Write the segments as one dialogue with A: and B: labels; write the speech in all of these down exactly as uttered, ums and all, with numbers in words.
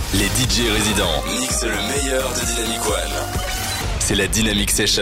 A: Les D J résidents mixent le meilleur de Dynamic One. C'est la Dynamic Session.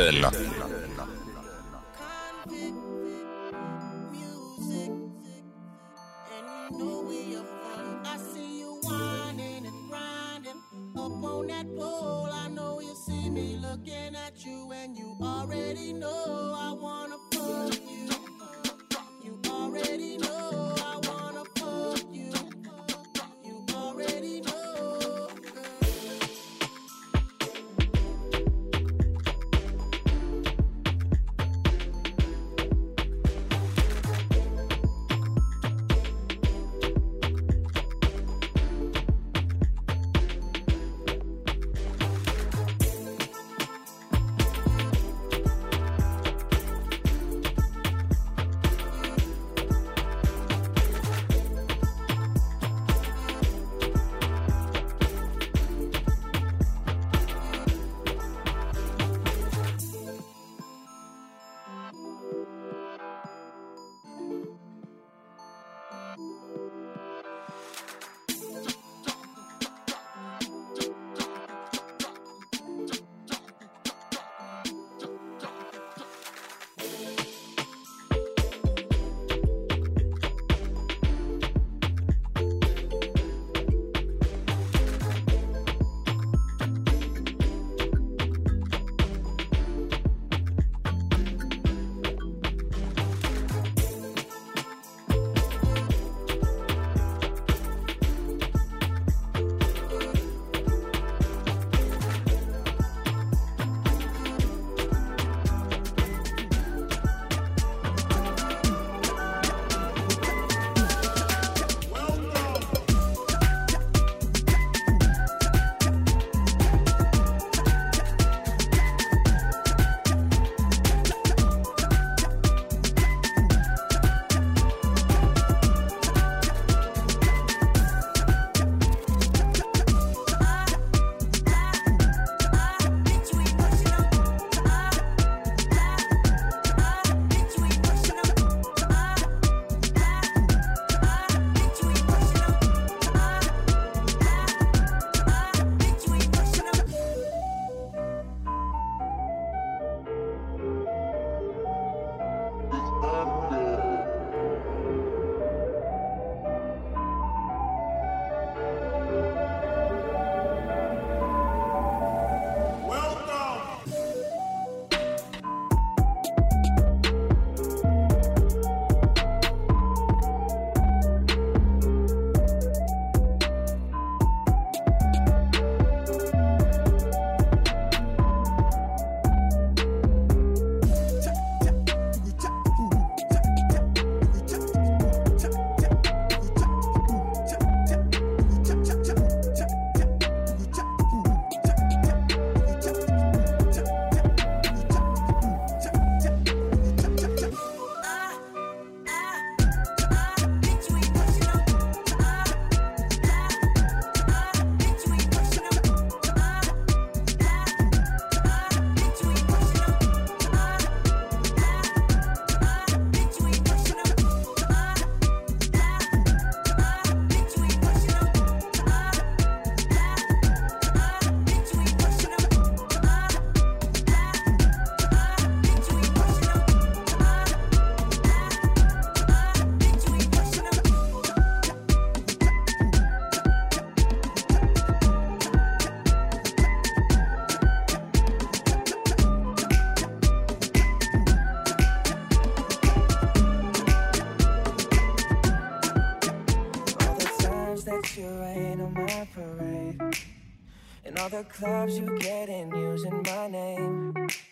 B: All the clubs you get in using my name.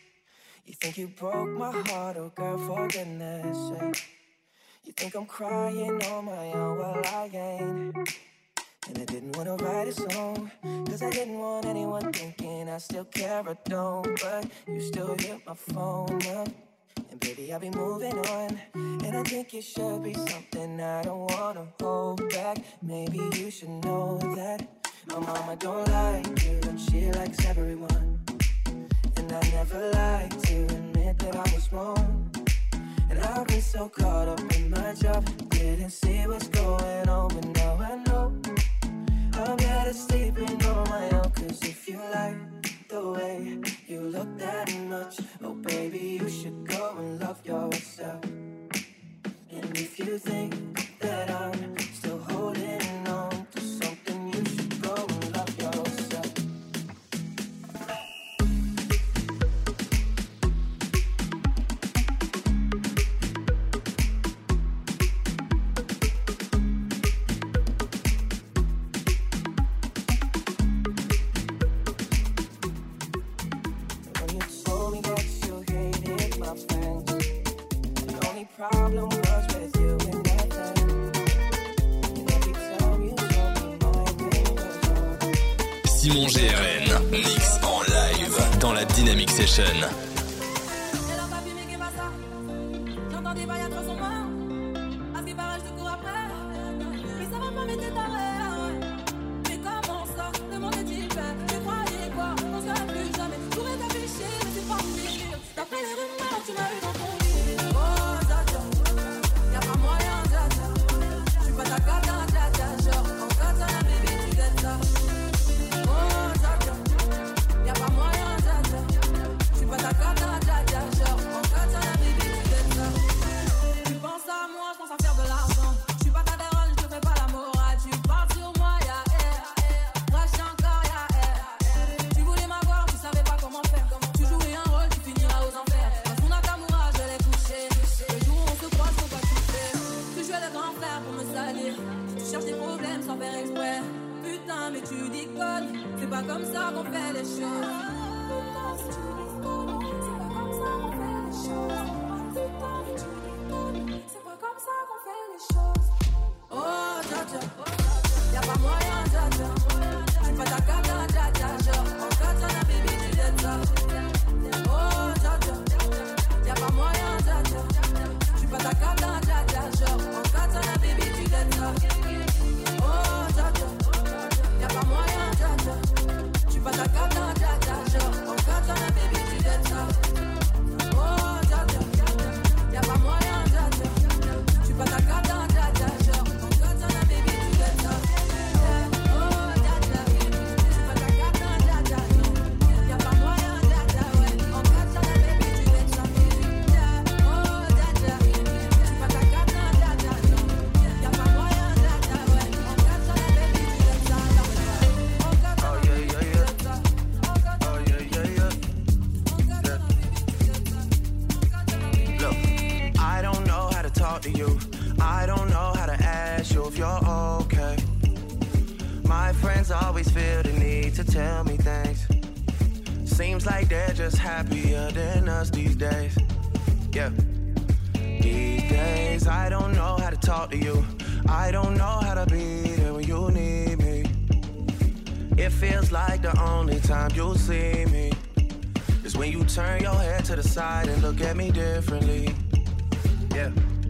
B: You think you broke my heart, oh girl, for goodness sake. You think I'm crying on my own, well I ain't. And I didn't want to write a song, cause I didn't want anyone thinking I still care or don't. But you still hit my phone up, and baby I'll be moving on. And I think it should be something I don't wanna hold back. Maybe you should know that my mama don't like you, and she likes everyone. And I never liked to admit that I was wrong. And I've been so caught up in my job, didn't see what's going on. But now I know I'm getting better sleeping on my own. Cause if you like the way you look that much, oh baby, you should go and love yourself. And if you think that I'm still holding on to something, you should go and love yourself. When you told me that you hated my friends, the only problem was with you and that thing. And every time you told me my pain was over.
A: Simon G R N, mix en live dans la Dynamic Session.
C: C'est dans ta vie, mais qu'est pas ça? J'entendais pas, y'a trop son mort. À ce qui paraît, je te cours après. Mais ça va pas, mais t'es taré. Mais comment ça? Le monde est-il fait? Tu croyais quoi? On se verra plus jamais. Je pourrais t'afficher, mais c'est pas fini. D'après les rumeurs, tu m'as eu dans ton lit. Oh, dja dja, y'a pas moyen, dja dja. J'suis pas ta cata, dja dja. Genre, en katana, baby, tu gâtes ça. Oh, dja dja, y'a pas moyen, dja dja. J'suis pas ta cata, dja dja. Genre, en katana, baby, tu gâtes ça. Tu penses à moi, j'pense à faire de l'argent. J'suis pas ta daronne, j'te fais pas la morale. Tu parles sur moi, y'a air. Rush encore, y'a air. Tu voulais m'avoir, tu savais pas comment faire. Tu jouais un rôle, tu finiras aux enfers. Dans son Nakamura, je l'ai couché. Le jour où on se croise, faut pas toucher. Tu jouais le grand frère pour me salir. Tu cherches des problèmes sans faire exprès. Putain, mais tu déconnes. C'est pas comme ça qu'on fait les choses. Putain, si tu déconnes. C'est pas comme ça qu'on fait les choses. Putain, mais tu déconnes. C'est pas comme ça qu'on fait les choses. Oh, dja dja, y'a pas moyen, dja dja. J'suis pas ta cata, dja dja. Genre, en katana, baby, tu gâtes ça. Oh, dja dja, y'a pas moyen, dja dja. J'suis pas ta cata, dja dja. Genre, en katana, baby, tu gâtes ça. Oh, dja dja, y'a pas moyen, dja dja. J'suis pas ta cata, dja dja. Genre, en katana, baby, tu gâtes ça. Oh, dja dja, y'a pas moyen, dja dja. J'suis pas ta cata, dja dja. Genre, en katana, baby, tu gâtes ça. Oh, dja dja, j'suis pas ta cata, dja dja. Y'a pas moyen, dja dja, ouais. En katana, baby, tu gâtes ça. Oh, dja dja, j'suis pas ta cata, dja dja. Y'a pas moyen, dja dja, ouais. En katana, baby, tu gâtes ça. En katana,
D: Oh yeah, yeah, yeah. Oh yeah, yeah, yeah. Look, I don't know how to talk to you. I don't know how to ask you if you're okay. My friends always feel the need to tell me things. Seems like they're just happier than us these days. Yeah. These days, I don't know how to talk to you. I don't know how to be there when you need me. It feels like the only time you'll see me is when you turn your head to the side and look at me differently. Yeah.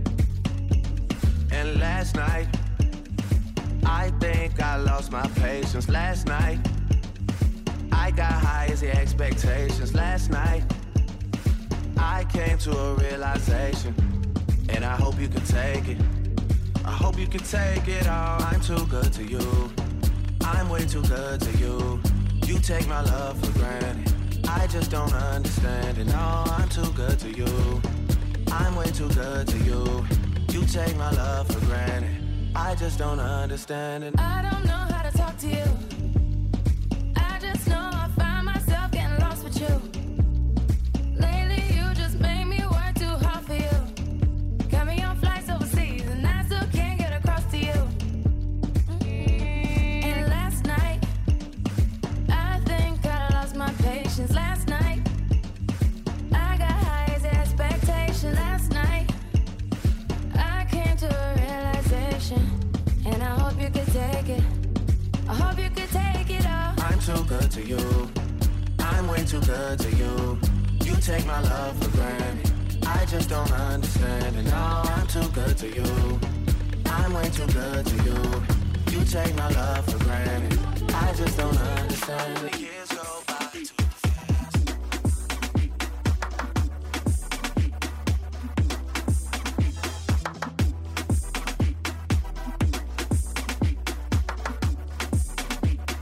D: And last night, I think I lost my patience. Last night, I got high as the expectations. Last night, I came to a realization, and I hope you can take it. I hope you can take it all. I'm too good to you. I'm way too good to you. You take my love for granted. I just don't understand it. No, I'm too good to you. I'm way too good to you. You take my love for granted. I just don't understand it.
C: I don't know how to talk to you. I just know I find myself getting lost with you. Lately you just made me work too hard for you. Got me on flights overseas and I still can't get across to you. And last night, I think I lost my patience. Last night, I got high as expectation. Last night, I came to a realization, and I hope you could take it. I hope you could take it all.
D: I'm too good to you. I'm way too good to you. You take my love for granted. I just don't understand it. No, I'm too good to you. I'm way too good to you. You take my love for granted. I just don't understand it. Years go by too fast.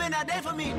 E: been out there for me.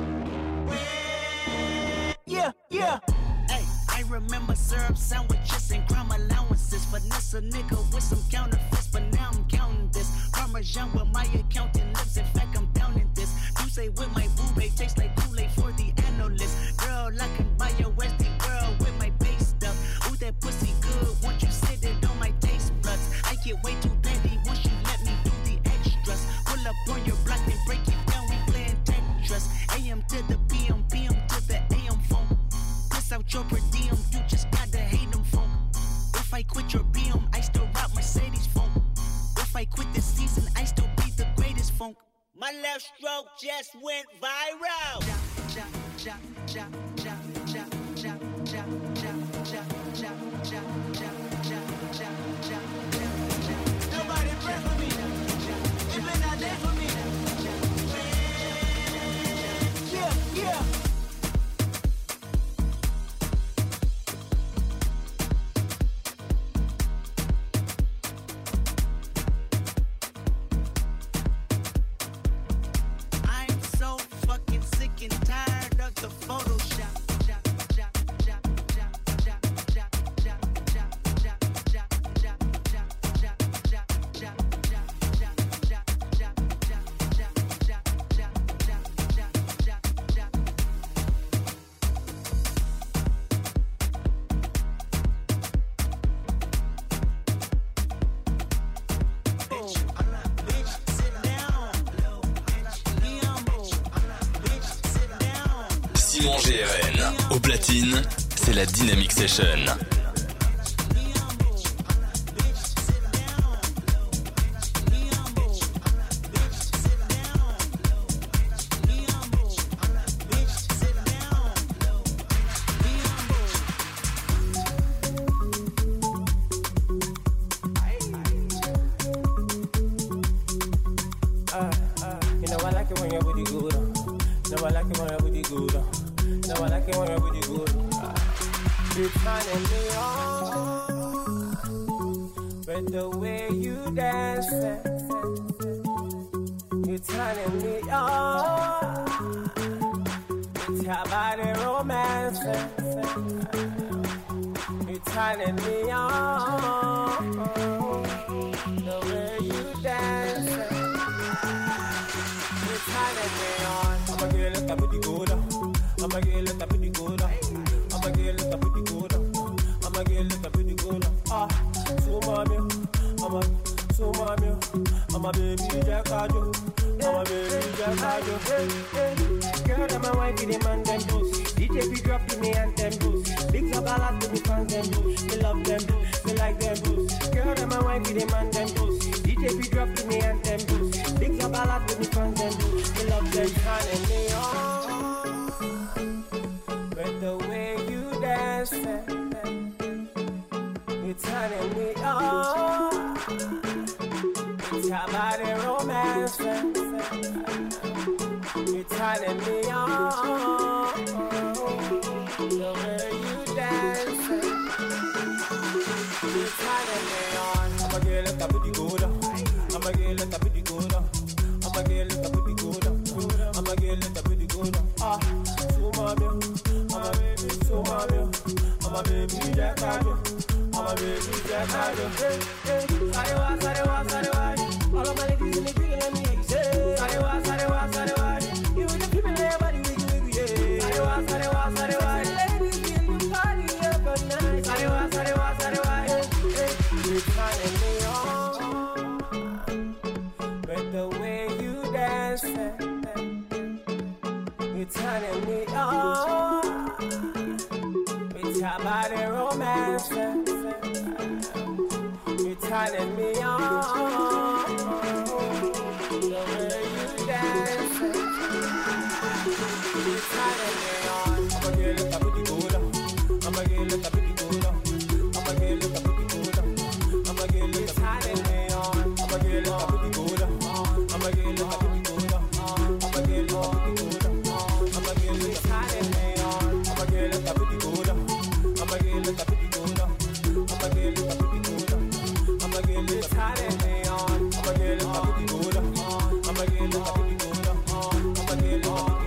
E: Yeah, yeah.
F: Hey, I remember syrup sandwiches and crime allowances. Finesse a nigga with some counterfeits, but now I'm counting this. Parmesan with my accountant lips. In fact, I'm down in this. You say with my boo babe tastes like Kool-Aid for the analyst. Girl, I can buy your Westie girl with my base stuff. Ooh, that pussy good. Once you sit it on my taste buds, I get way too petty once you let me do the extras. Pull up on your block and break it down. We playing Tetris. A M to the P M, P M to the A M phone. Piss out your per diem, you just gotta hate them phone. If I quit your B M, I still rock Mercedes phone. If I quit this season, I still be the greatest funk. My left stroke just went viral.
E: Nobody pray for me. You been out there for me. Yeah, yeah.
F: I'm so fucking sick and tired of the Photoshop.
A: Simon G R N. Au platine, c'est la Dynamic Session.
B: I'm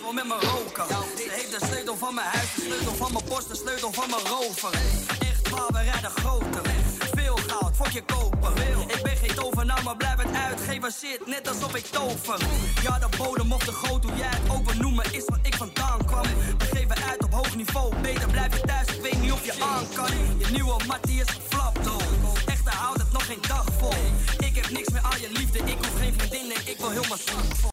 G: wil met me roken. Ze heeft de sleutel van mijn huis, de sleutel van mijn post, de sleutel van mijn rover. Echt waar, we rijden groter. Veel goud, fok je kopen. Ik ben geen tovenaar, maar blijf het uitgeven. Shit, net alsof ik tover. Ja, de bodem of de goot, hoe jij het ook wil noemen, is wat ik vandaan kwam. We geven uit op hoog niveau, beter blijf je thuis, ik weet niet of je aan kan. Je nieuwe mattie is geflapt, hoor. Echter houdt het nog geen dag vol. Ik heb niks meer aan je liefde, ik hoef geen vriendinnen, ik wil heel mijn zak vol.